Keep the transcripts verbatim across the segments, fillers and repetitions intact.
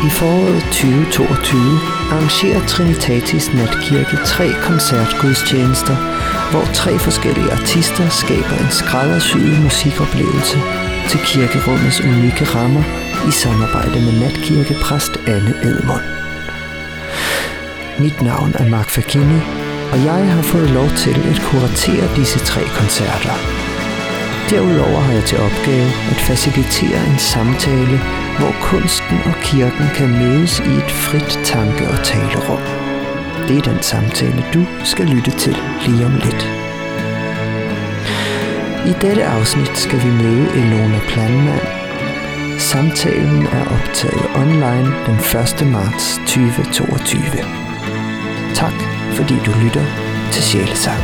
I foråret tyve toogtyve arrangerer Trinitatis Natkirke tre koncertgudstjenester, hvor tre forskellige artister skaber en skræddersyet musikoplevelse til kirkerummets unikke rammer i samarbejde med natkirkepræst Anne Edmund. Mit navn er Mark Fagini, og jeg har fået lov til at kuratere disse tre koncerter. Derudover har jeg til opgave at facilitere en samtale, hvor kunsten og kirken kan mødes i et frit tanke- og talerum. Det er den samtale, du skal lytte til lige om lidt. I dette afsnit skal vi møde Elona Planman. Samtalen er optaget online den første marts tyve toogtyve. Tak, fordi du lytter til Sjælesang.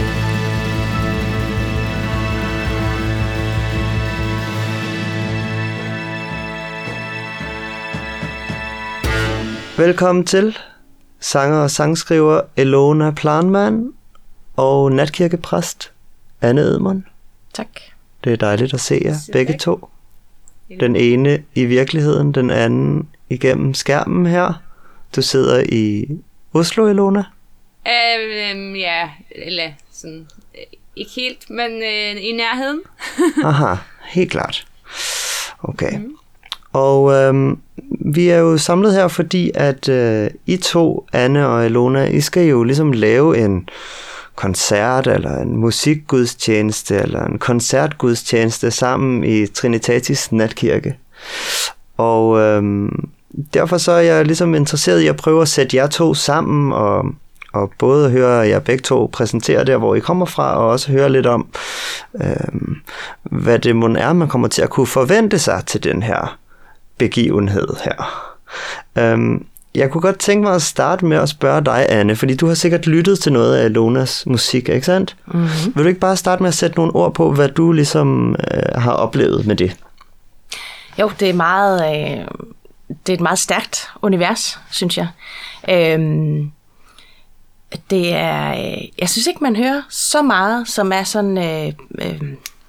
Velkommen til sanger og sangskriver Elona Planman og natkirkepræst Anne Edmund. Tak. Det er dejligt at se jer begge to. Den ene i virkeligheden, den anden igennem skærmen her. Du sidder i Oslo, Elona? Øh, ja, eller sådan, ikke helt, men øh, i nærheden. Aha, helt klart. Okay. Mm. Og øhm, vi er jo samlet her, fordi at øh, I to, Anne og Elona, I skal jo ligesom lave en koncert, eller en musikgudstjeneste, eller en koncertgudstjeneste sammen i Trinitatis Natkirke. Og øhm, derfor så er jeg ligesom interesseret i at prøve at sætte jer to sammen, og, og både høre jer begge to præsentere der, hvor I kommer fra, og også høre lidt om, øhm, hvad det mon er, man kommer til at kunne forvente sig til den her begivenhed her. Øhm, jeg kunne godt tænke mig at starte med at spørge dig, Anne, fordi du har sikkert lyttet til noget af Elonas musik, ikke sandt? Mm-hmm. Vil du ikke bare starte med at sætte nogle ord på, hvad du ligesom øh, har oplevet med det? Jo, det er meget, øh, det er et meget stærkt univers, synes jeg. Øhm, det er, øh, jeg synes ikke, man hører så meget, som er sådan. Øh, øh,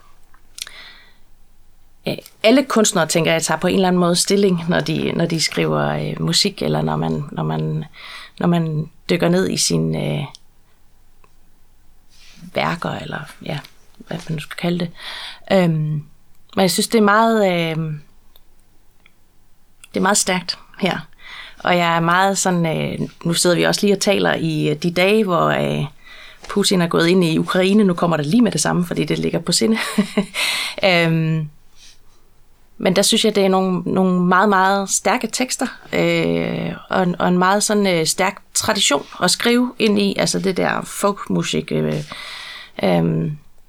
Alle kunstnere, tænker jeg, tager på en eller anden måde stilling, når de, når de skriver øh, musik, eller når man, når, man, når man dykker ned i sine øh, værker, eller ja, hvad man nu skal kalde det. Øhm, men jeg synes, det er meget, øh, det er meget stærkt her. Og jeg er meget sådan, øh, nu sidder vi også lige og taler i de dage, hvor øh, Putin er gået ind i Ukraine. Nu kommer det lige med det samme, fordi det ligger på sinde. øhm, Men der synes jeg, det er nogle, nogle meget, meget stærke tekster, øh, og, en, og en meget sådan øh, stærk tradition at skrive ind i, altså det der folkmusik. Øh, øh,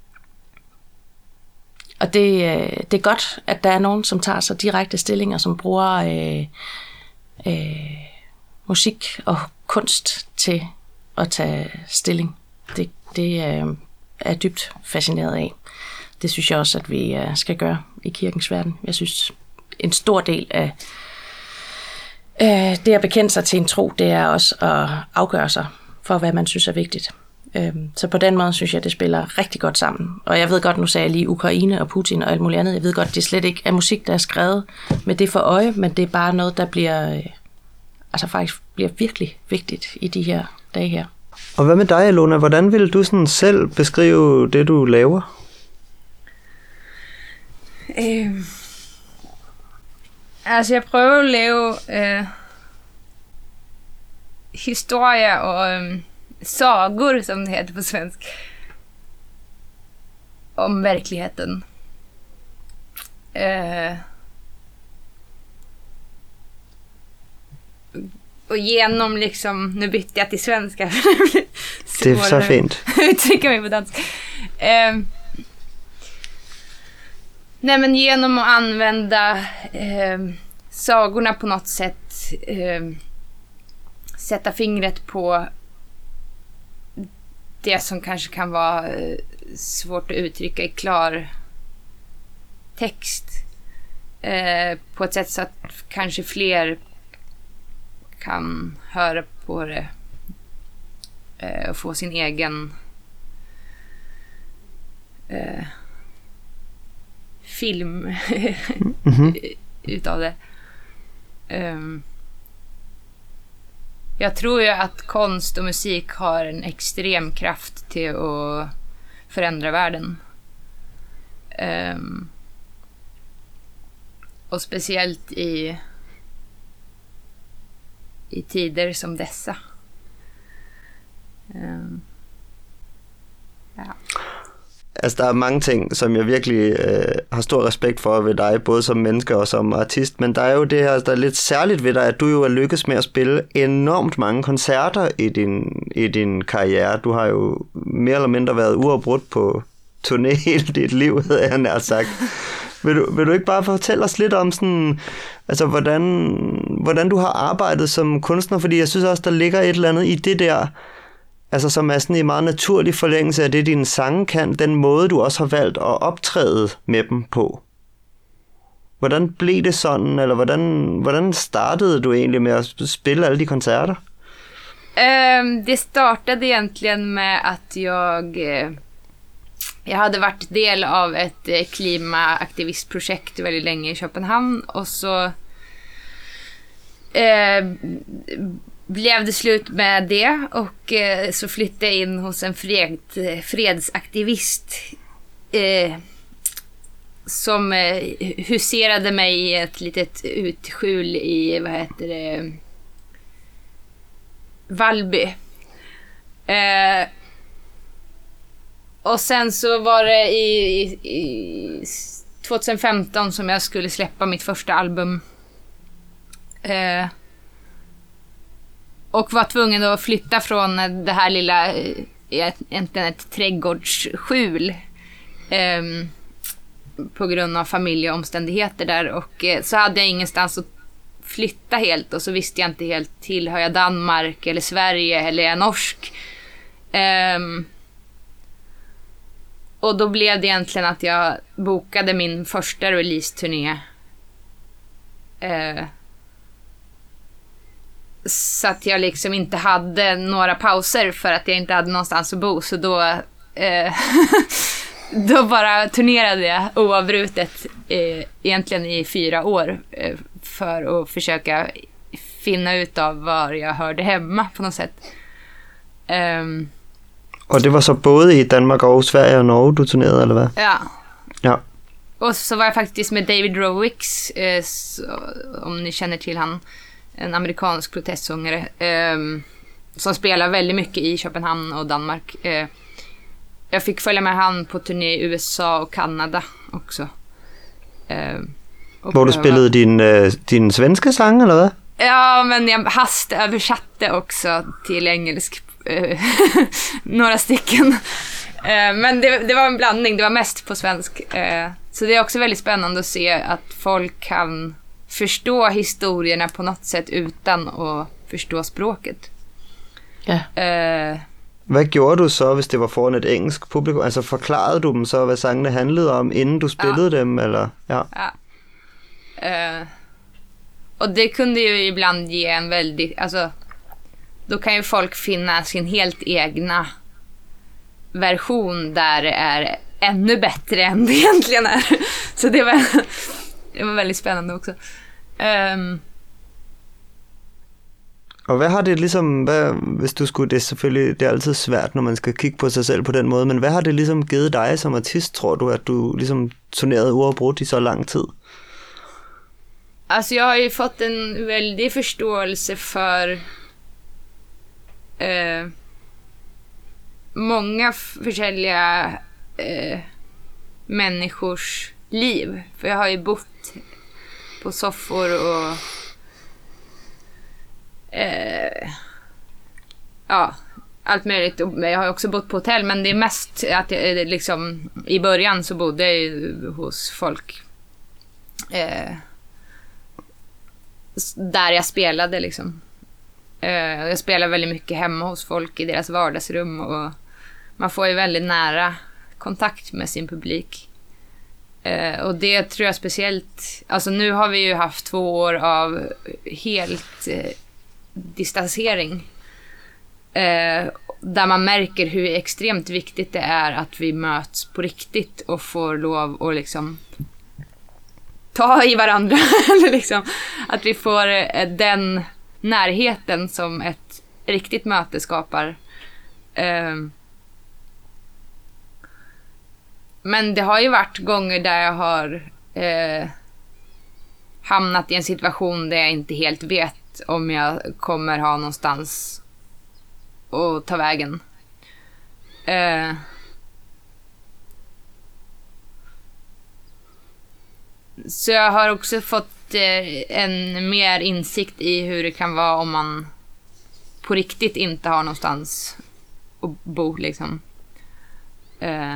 og det, øh, det er godt, at der er nogen, som tager sig direkte stillinger, som bruger øh, øh, musik og kunst til at tage stilling. Det, det øh, er jeg dybt fascineret af. Det synes jeg også, at vi skal gøre i kirkens verden. Jeg synes, en stor del af øh, det at bekende sig til en tro, det er også at afgøre sig for, hvad man synes er vigtigt. Øh, så på den måde synes jeg, det spiller rigtig godt sammen. Og jeg ved godt, nu sagde jeg lige Ukraine og Putin og alt muligt andet. Jeg ved godt, det slet ikke er musik, der er skrevet med det for øje, men det er bare noget, der bliver, øh, altså faktisk bliver virkelig vigtigt i de her dage her. Og hvad med dig, Elona? Hvordan vil du sådan selv beskrive det, du laver? Øh, altså jeg prøver at lave øh, historier og øh, sagor, som det heter på svensk, om verkligheten. Øh, och genom liksom, nu bytte jag till svenska. Det är så fint. Uttrycker mig på dansk. Eh, nej men genom att använda eh, sagorna på något sätt, eh, sätta fingret på det som kanske kan vara eh, svårt att uttrycka i klar text, eh, på ett sätt så att kanske fler kan höra på det eh, och få sin egen eh, film mm-hmm. utav det. Um, jag tror ju att konst och musik har en extrem kraft till att förändra världen. Um, och speciellt i i tider som dessa. Um, ja. Altså, der er mange ting, som jeg virkelig øh, har stor respekt for ved dig, både som menneske og som artist, men der er jo det her, der er lidt særligt ved dig, at du jo er lykkes med at spille enormt mange koncerter i din, i din karriere. Du har jo mere eller mindre været uafbrudt på turné hele dit liv, havde jeg nær sagt. Vil du, vil du ikke bare fortælle os lidt om sådan, altså hvordan, hvordan du har arbejdet som kunstner, fordi jeg synes også, der ligger et eller andet i det der, altså som er sådan en meget naturlig forlængelse af det, dine sange kan, den måde, du også har valgt at optræde med dem på. Hvordan blev det sådan, eller hvordan, hvordan startede du egentlig med at spille alle de koncerter? Um, det startade egentligen med att jag jag hade varit del av ett klimataktivistprojekt väldigt länge i Köpenhamn, och så eh, blev det slut med det, och eh, så flyttade jag in hos en fred, fredsaktivist eh, som eh, huserade mig i ett litet utskjul i, vad heter det, Valby. Eh, och sen så var det i, i, i tjugo femton som jag skulle släppa mitt första album. Eh, och var tvungen att flytta från det här lilla, egentligen ett trädgårdsskjul, eh, på grund av familjeomständigheter där, och eh, så hade jag ingenstans att flytta helt, och så visste jag inte helt, tillhör jag Danmark eller Sverige eller är jag norsk. Eh, och då blev det egentligen att jag bokade min första release-turné. Eh, så att jag liksom inte hade några pauser för att jag inte hade någonstans att bo. Så då, eh, då bara turnerade jag oavbrutet eh, egentligen i fyra år eh, för att försöka finna ut av var jag hörde hemma på något sätt. Um, og det var så både i Danmark og Sverige og Norge, du turnerede, eller hvad? Ja. Ja. Och så var jag faktiskt med David Rowicks, eh, så, om ni känner till han, en amerikansk protestsångare eh, som spelar väldigt mycket i Köpenhamn och Danmark. Eh, jag fick följa med han på turné i U S A och Kanada också. Eh, och Hvor du spillede din, øh, din svenske sang, eller hvad? Ja, men jag hastöversatte också till engelsk eh, några stycken. Eh, men det, det var en blandning, det var mest på svensk. Eh, så det är också väldigt spännande att se att folk kan förstå historierna på något sätt utan att förstå språket. Ja. Eh, Hvad gjorde du så, hvis det var foran et engelsk publikum? Altså forklarede du dem så, hvad sangene handlede om, inden du spillede ja. dem? Eller? Ja. Ja. Eh, och det kunde ju ibland ge en väldigt, alltså då kan ju folk finna sin helt egna version där det är ännu bättre än det egentligen är. Så det var, det var väldigt spännande också. Um, Og hvad har det ligesom, hvad, hvis du skulle, det er selvfølgelig, det er altid svært, når man skal kigge på sig selv på den måde, men hvad har det ligesom givet dig som artist, tror du, at du ligesom turnerede uafbrudt i så lang tid? Alltså jag har ju fått en väldig förståelse för eh, många försäljliga eh, människors liv. För jag har ju bott på soffor och eh, ja, allt möjligt. Jag har också bott på hotell, men det är mest att jag, liksom, i början så bodde jag ju hos folk eh, där jag spelade liksom. Uh, jag spelar väldigt mycket hemma hos folk i deras vardagsrum, och man får ju väldigt nära kontakt med sin publik. Uh, och det tror jag speciellt, alltså nu har vi ju haft två år av helt uh, distansering. Uh, där man märker hur extremt viktigt det är att vi möts på riktigt och får lov att liksom ta i varandra eller liksom att vi får den närheten som ett riktigt möte skapar. Eh, men det har ju varit gånger där jag har eh, hamnat i en situation där jag inte helt vet om jag kommer ha någonstans att ta vägen. Eh, så jag har också fått eh, en mer insikt i hur det kan vara om man på riktigt inte har någonstans att bo liksom. Eh,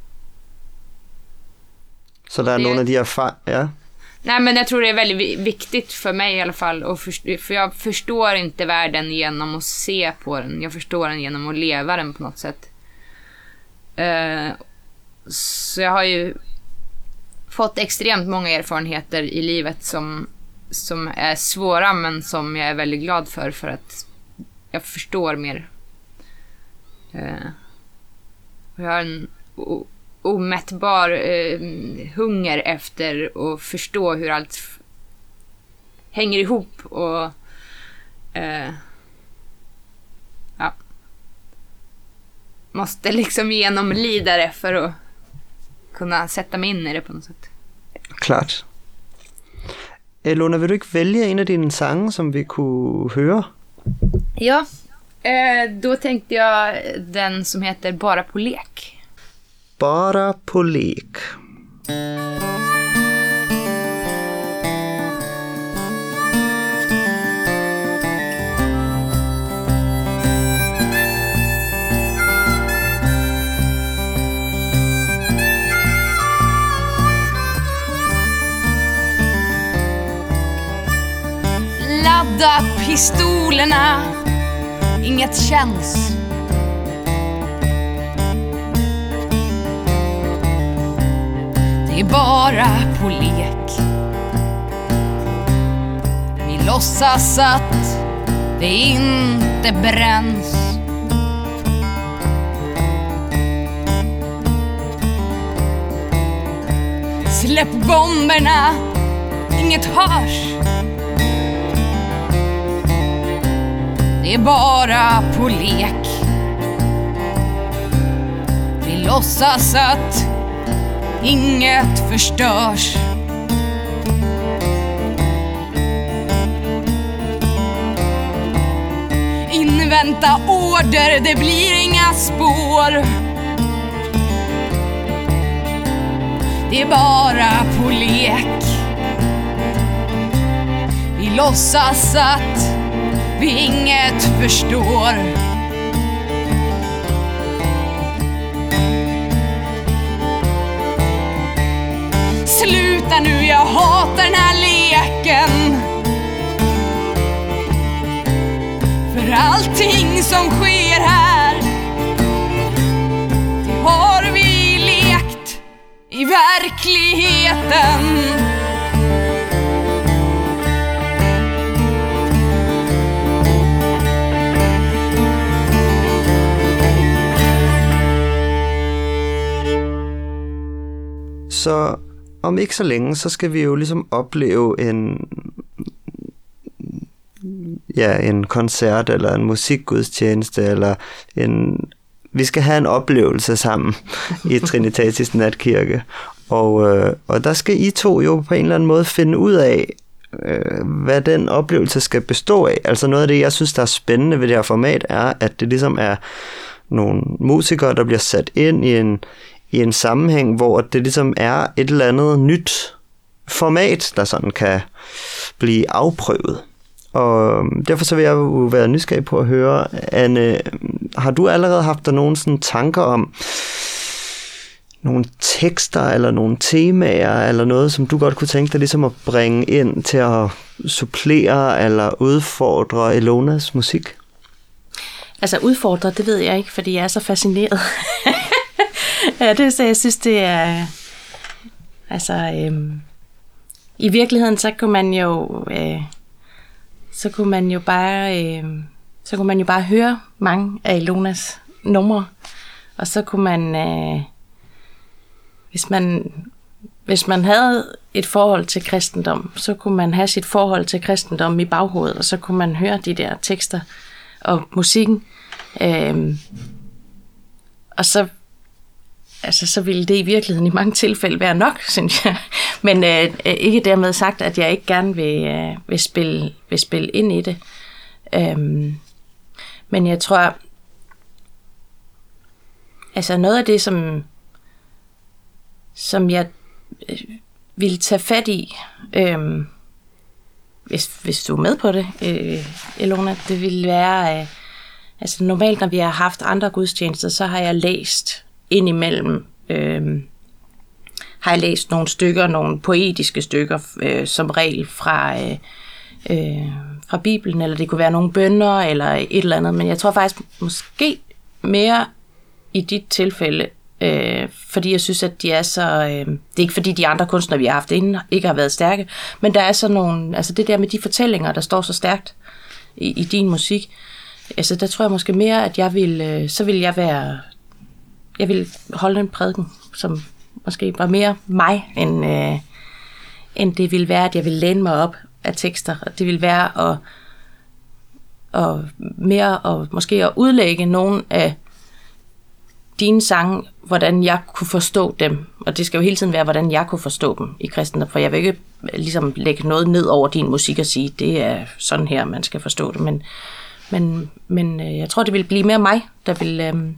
så där är det... några av de erfarenheter, ja. Nej, men jag tror det är väldigt viktigt för mig i alla fall. Och för, för jag förstår inte världen genom att se på den. Jag förstår den genom att leva den på något sätt. Uh, så jag har ju fått extremt många erfarenheter i livet som, som är svåra, men som jag är väldigt glad för. För att jag förstår mer. Uh, och jag har en... O- omättbar eh, hunger efter att förstå hur allt f- hänger ihop och eh, ja, måste liksom genomlida det för att kunna sätta mig in i det på något sätt. Klart. Ilona, vill du inte välja en av dina sånger som vi kunde höra? Ja, eh, då tänkte jag den som heter Bara på lek. Bara på lek. Ladda pistolerna, inget känns. Det är bara på lek. Vi låtsas att det inte bränns. Släpp bomberna, inget hörs. Det är bara på lek. Vi låtsas att inget förstörs. Invänta order, det blir inga spår. Det är bara på lek. Vi låtsas att vi inget förstår. Sluta nu, jag hatar den här leken. För allting som sker här, det har vi lekt i verkligheten. Så om ikke så længe, så skal vi jo ligesom opleve en, ja, en koncert, eller en musikgudstjeneste, eller en, vi skal have en oplevelse sammen i Trinitatis Natkirke. Og, øh, og der skal I to jo på en eller anden måde finde ud af, øh, hvad den oplevelse skal bestå af. Altså noget af det, jeg synes, der er spændende ved det her format, er, at det ligesom er nogle musikere, der bliver sat ind i en i en sammenhæng, hvor det ligesom er et eller andet nyt format, der sådan kan blive afprøvet. Og derfor så vil jeg jo være nysgerrig på at høre, Anne, har du allerede haft der nogle sådan tanker om nogle tekster eller nogle temaer eller noget, som du godt kunne tænke dig ligesom at bringe ind til at supplere eller udfordre Ilonas musik? Altså udfordre, det ved jeg ikke, fordi jeg er så fascineret. Ja, det så jeg synes, det er... Altså, øhm, i virkeligheden, så kunne man jo... Øh, så kunne man jo bare... Øh, så kunne man jo bare høre mange af Ilonas numre. Og så kunne man... Øh, hvis man... Hvis man havde et forhold til kristendom, så kunne man have sit forhold til kristendom i baghovedet, og så kunne man høre de der tekster. og musikken. Øhm, og så, altså, så ville det i virkeligheden i mange tilfælde være nok, synes jeg. Men øh, ikke dermed sagt, at jeg ikke gerne vil, øh, vil, spille, vil spille ind i det. Øhm, men jeg tror, altså noget af det, som, som jeg øh, ville tage fat i, øh, hvis, hvis du er med på det, øh, Ilona, det ville være, øh, altså normalt, når vi har haft andre gudstjenester, så har jeg læst indimellem, øh, har jeg læst nogle stykker, nogle poetiske stykker, øh, som regel fra, øh, øh, fra Bibelen, eller det kunne være nogle bønner, eller et eller andet, men jeg tror faktisk måske mere i dit tilfælde, øh, fordi jeg synes, at de er så, øh, det er ikke fordi de andre kunstnere, vi har haft inden, ikke har været stærke, men der er så nogle, altså det der med de fortællinger, der står så stærkt i, i din musik, altså der tror jeg måske mere, at jeg vil, øh, så vil jeg være, jeg vil holde en prædiken, som måske var mere mig, end, øh, end det ville være, at jeg ville læne mig op af tekster, og det ville være at, og mere og måske at udlægge nogle af dine sange, hvordan jeg kunne forstå dem. Og det skal jo hele tiden være, hvordan jeg kunne forstå dem i kristendom. For jeg vil ikke ligesom lægge noget ned over din musik og sige, det er sådan her, man skal forstå det. Men, men, men jeg tror, det vil blive mere mig, der vil, øhm,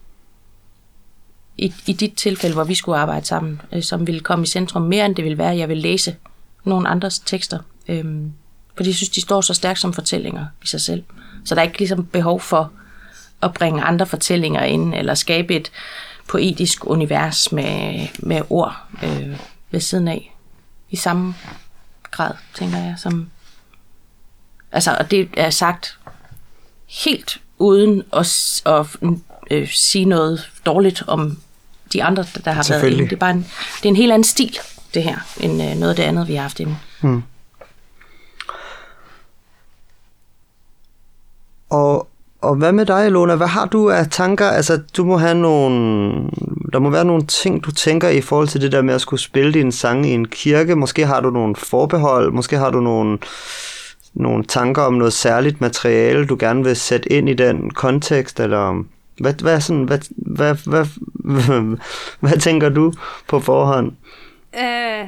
i, i dit tilfælde, hvor vi skulle arbejde sammen, øh, som ville komme i centrum mere, end det vil være, at jeg vil læse nogle andres tekster. Øhm, fordi jeg synes, de står så stærkt som fortællinger i sig selv. Så der er ikke ligesom behov for at bringe andre fortællinger ind, eller skabe et poetisk univers med, med ord øh, ved siden af. I samme grad, tænker jeg. Som, altså, og det er sagt helt uden at, at øh, sige noget dårligt om de andre, der har været inde. Det er bare en, det er en helt anden stil, det her, end øh, noget af det andet, vi har haft inde. Hmm. Og Og hvad med dig, Ilona? Hvad har du af tanker? Altså, du må have nogle, der må være nogle ting, du tænker i forhold til det der med at skulle spille dine sange i en kirke. Måske har du nogle forbehold, måske har du nogle, nogle tanker om noget særligt materiale, du gerne vil sætte ind i den kontekst, eller hvad, hvad, sådan, hvad, hvad, hvad, hvad, hvad tænker du på forhånd? Uh...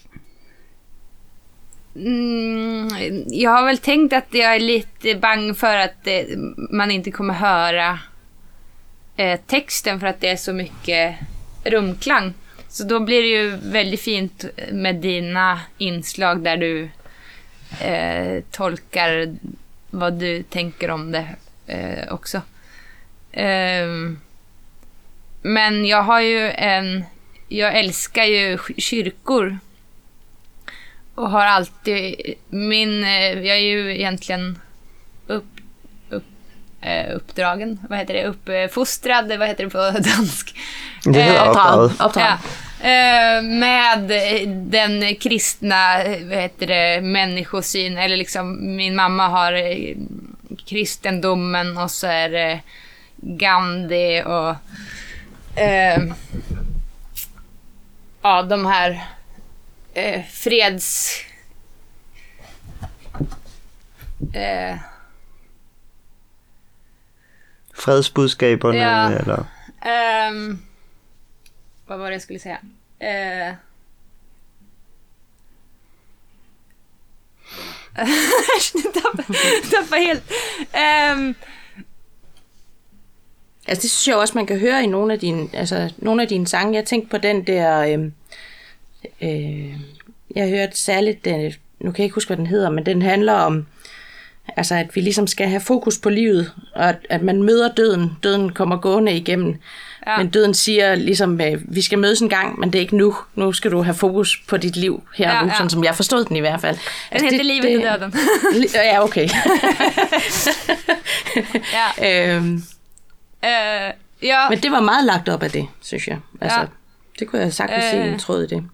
Mm, jag har väl tänkt att jag är lite bang för att eh, man inte kommer höra eh, texten för att det är så mycket rumklang. Så då blir det ju väldigt fint med dina inslag där du eh, tolkar vad du tänker om det eh, också. Eh, men jag har ju en, jag älskar ju kyrkor. Och har alltid min, jag är ju egentligen upp, upp, uppdragen, vad heter det, uppfostrad, vad heter det på dansk? Det heter uppdrag. Ja, med den kristna, vad heter det, människosyn, eller liksom min mamma har kristendomen och så är det Gandhi och eh, ja, de här Eh, freds eh, fredsbudskaberne ja, eller um, vad var det jag skulle säga eh, tappa helt um, altså det synes jeg også man kan høre i nogle af dine, altså nogle af dine sange. Jeg tænkte på den der øh, Øh, jeg har hørt særligt, den, nu kan jeg ikke huske, hvad den hedder, men den handler om, altså at vi ligesom skal have fokus på livet, og at, at man møder døden. Døden kommer gående igennem, ja. Men døden siger ligesom, øh, vi skal mødes en gang, men det er ikke nu. Nu skal du have fokus på dit liv her ja, nu, ja. Sådan som jeg forstod den i hvert fald. Den altså, heter det, Livet det, og døden. Ja, okay. ja. øhm, øh, ja. Men det var meget lagt op af det, synes jeg. Altså, ja. Det kunne jeg sagtens øh. se en tråd i det.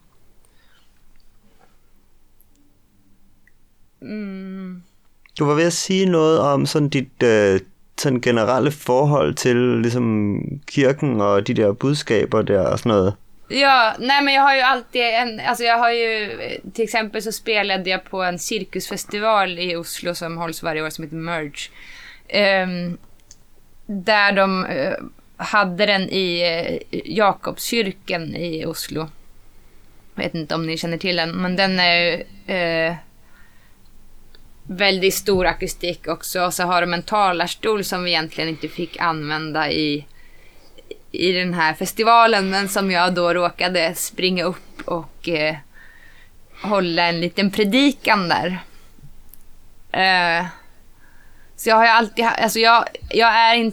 Mm. Du var ved at sige noget om sådan dit øh, sådan generelle forhold til ligesom kirken og de der budskaber der og sådan noget. Ja, nej men jag har ju alltid en, alltså jag har ju till exempel så spelade jag på en cirkusfestival i Oslo som hålls varje år som heter Merge. eh, där de eh, hade den i eh, Jakobskyrkan i Oslo. Jag vet inte om ni känner till den, men den är eh, väldigt stor akustik också. Och så har de en talarstol som vi egentligen inte fick använda i, i den här festivalen, men som jag då råkade springa upp och eh, hålla en liten predikan där. Eh, så jag har ju alltid, alltså jag, jag är inte,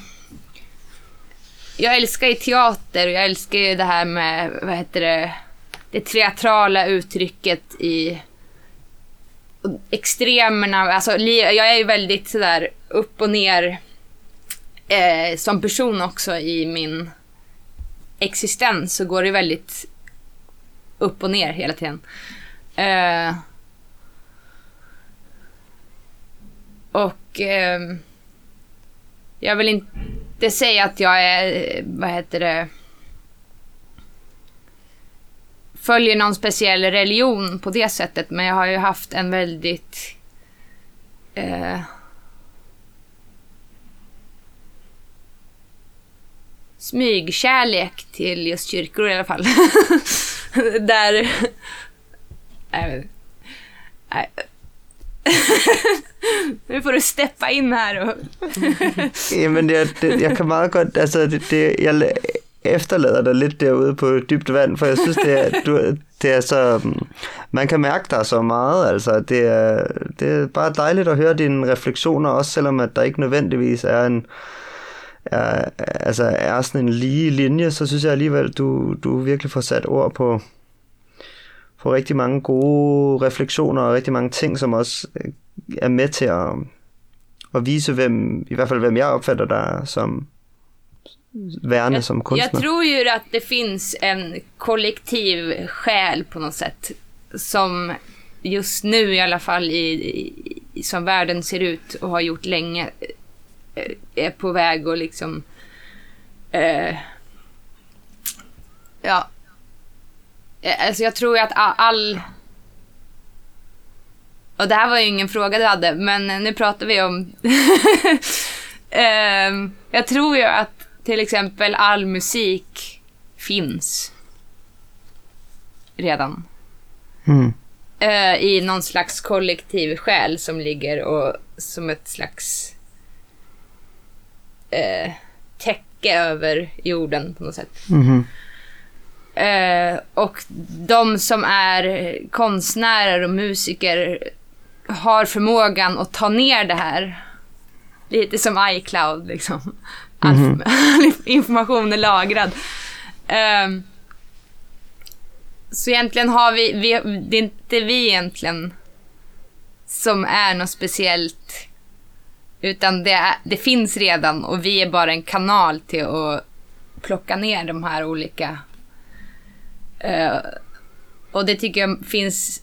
jag älskar ju teater och jag älskar ju det här med, vad heter det, det teatrala uttrycket i extremerna. Alltså, jag är ju väldigt sådär upp och ner eh, som person också i min existens, så går det väldigt upp och ner hela tiden. Eh, och eh, jag vill inte säga att jag är, vad heter det, följer någon speciell religion på det sättet, men jag har ju haft en väldigt eh, smygkärlek till just kyrkor i alla fall. Där nej, nej. Nu får du steppa in här och ja, men det, det, jag kan meget godt, altså det, det, jeg efterlader dig lidt derude på dybt vand, for jeg synes det er, du, det er så, man kan mærke dig så meget, altså det er, det er bare dejligt at høre dine refleksioner, også selvom at der ikke nødvendigvis er en er, altså er sådan en lige linje, så synes jeg alligevel du, du virkelig får sat ord på på rigtig mange gode refleksioner og rigtig mange ting, som også er med til at, at vise, hvem, i hvert fald hvem jeg opfatter dig som værende jag, som kunstner. Jag tror ju att det finns en kollektiv själ på något sätt som just nu i alla fall i, i, som världen ser ut och har gjort länge är på väg och liksom eh, ja alltså jag tror att all och det här var ju ingen fråga du hade, men nu pratar vi om eh, jag tror ju att till exempel all musik finns redan Mm. eh, i någon slags kollektiv själ som ligger och som ett slags eh, täcke över jorden på något sätt. Mm-hmm. Eh, och de som är konstnärer och musiker har förmågan att ta ner det här. Lite som iCloud liksom. All mm-hmm. information är lagrad. Eh, så egentligen har vi, vi det är inte vi egentligen som är något speciellt, utan det, är, det finns redan och vi är bara en kanal till att plocka ner de här olika uh, och det tycker jag finns,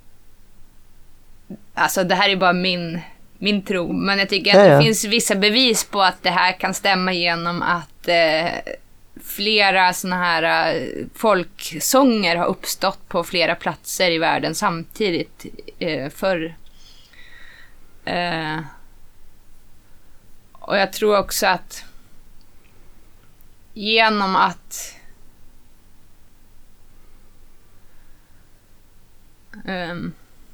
alltså det här är bara min min tro, men jag tycker att ja, ja. det finns vissa bevis på att det här kan stämma genom att uh, flera såna här uh, folksånger har uppstått på flera platser i världen samtidigt uh, för uh, och jag tror också att genom att um,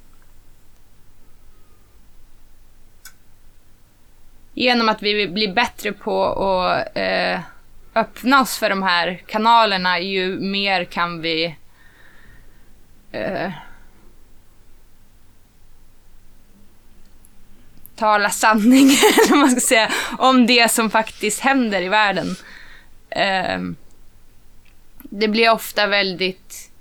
genom att vi blir bättre på att uh, öppna oss för de här kanalerna, ju mer kan vi uh, tala sanning eller man ska säga, om det som faktiskt händer i världen. Uh, det blir ofta väldigt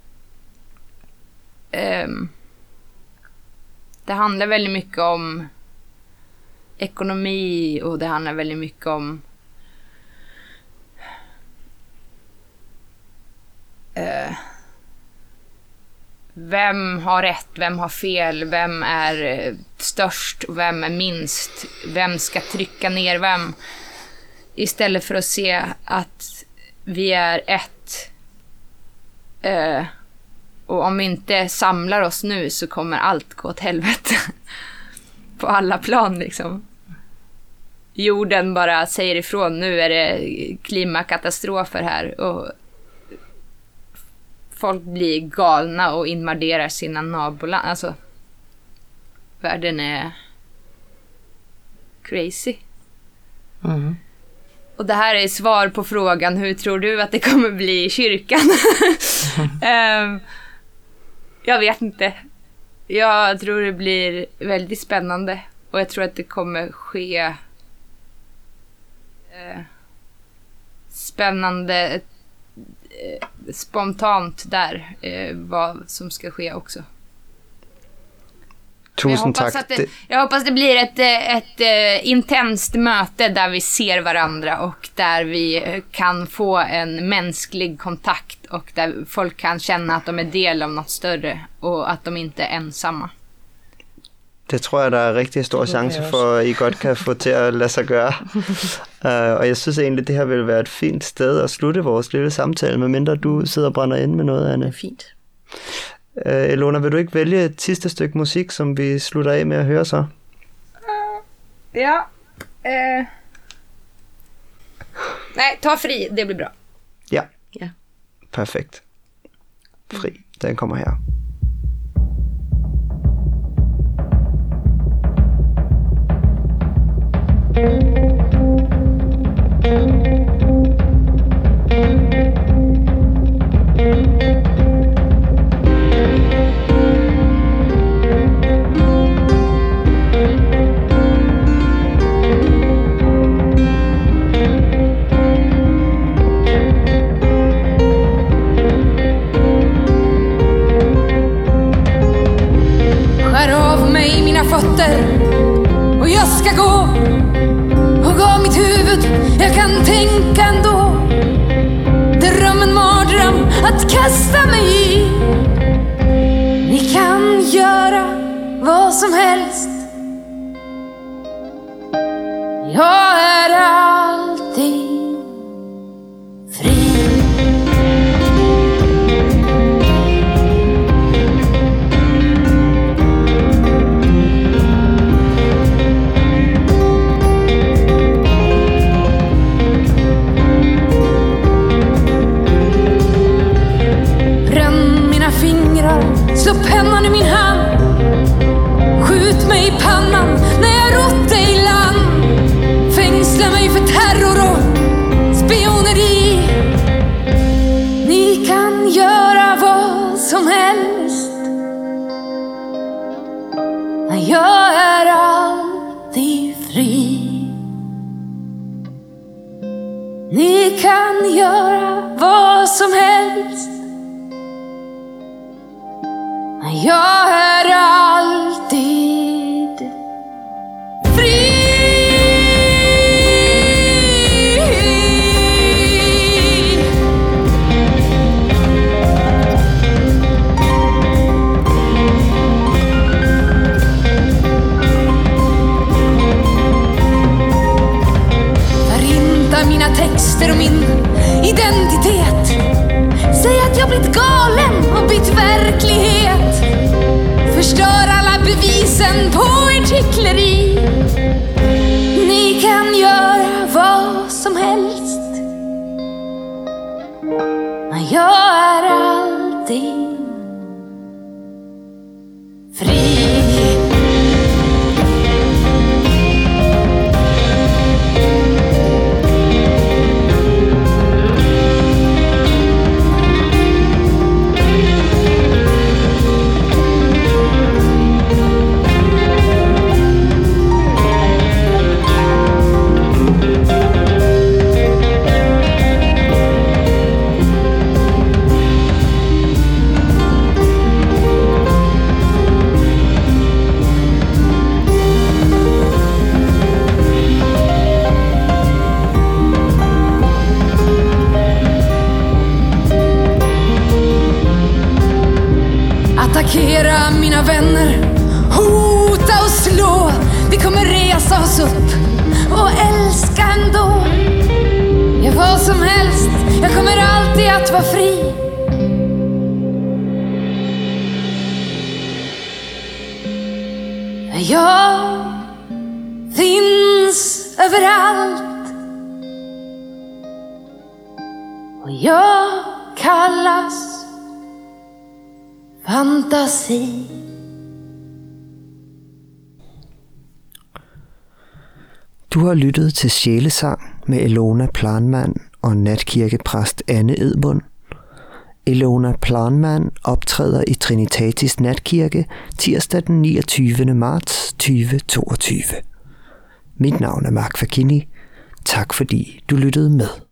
uh, det handlar väldigt mycket om ekonomi och det handlar väldigt mycket om uh, vem har rätt, vem har fel, vem är störst och vem är minst, vem ska trycka ner vem, istället för att se att vi är ett uh, och om vi inte samlar oss nu så kommer allt gå åt helvete på alla plan liksom. jorden bara säger ifrån, nu är det klimakatastrofer här och folk blir galna och invaderar sina naboland. Alltså, världen är crazy. Mm. Och det här är svar på frågan, hur tror du att det kommer bli i kyrkan? um, jag vet inte. Jag tror det blir väldigt spännande. Och jag tror att det kommer ske eh, spännande eh, spontant där eh, vad som ska ske också. Tusind jag tack. Det, det... Jag hoppas det blir ett, ett, ett intenst möte där vi ser varandra och där vi kan få en mänsklig kontakt och där folk kan känna att de är del av något större och att de inte är ensamma. Det tror jeg, der er rigtig stor chance for, at I godt kan få til at lade sig gøre. uh, og jeg synes egentlig, det her vil være et fint sted at slutte vores lille samtale, medmindre du sidder og brænder ind med noget, Anne. Det er fint. Uh, Elona, vil du ikke vælge et sidste stykke musik, som vi slutter af med at høre så? Uh, ja. Uh... Nej, ta Fri, det blir bra. Ja. Ja. Perfekt. Fri, den kommer her. Skär av mig mina fötter och jag ska gå. Och av mitt huvud jag kan tänka ändå. Dröm en mardröm att kasta mig i. Ni kan göra vad som helst. Jag är alltid fri. Slå pennan i min hand. Skjut mig i pannan när jag rott dig i land. Fängsla mig för terror och spioneri. Ni kan göra vad som helst. Jag är alltid fri. Ni kan göra vad som helst. Jag är alltid fri. Förinta mina texter och min identitet. Säg att jag blivit galen och bytt verklighet. Förstör alla bevisen på ert hyckleri. Ni kan göra vad som helst. Men jag är alltid fri. Attackera mina vänner, hota och slå. Vi kommer resa oss upp och älska ändå. Ja, vad som helst, jag kommer alltid att vara fri. Jag finns finns överallt. Och jag kallas fantasi. Du har lyttet til Sjælesang med Ilona Planman og natkirkepræst Anne Edmund. Ilona Planman optræder i Trinitatis Natkirke tirsdag den niogtyvende marts tyve toogtyve. Mit navn er Mark Fakini. Tak fordi du lyttede med.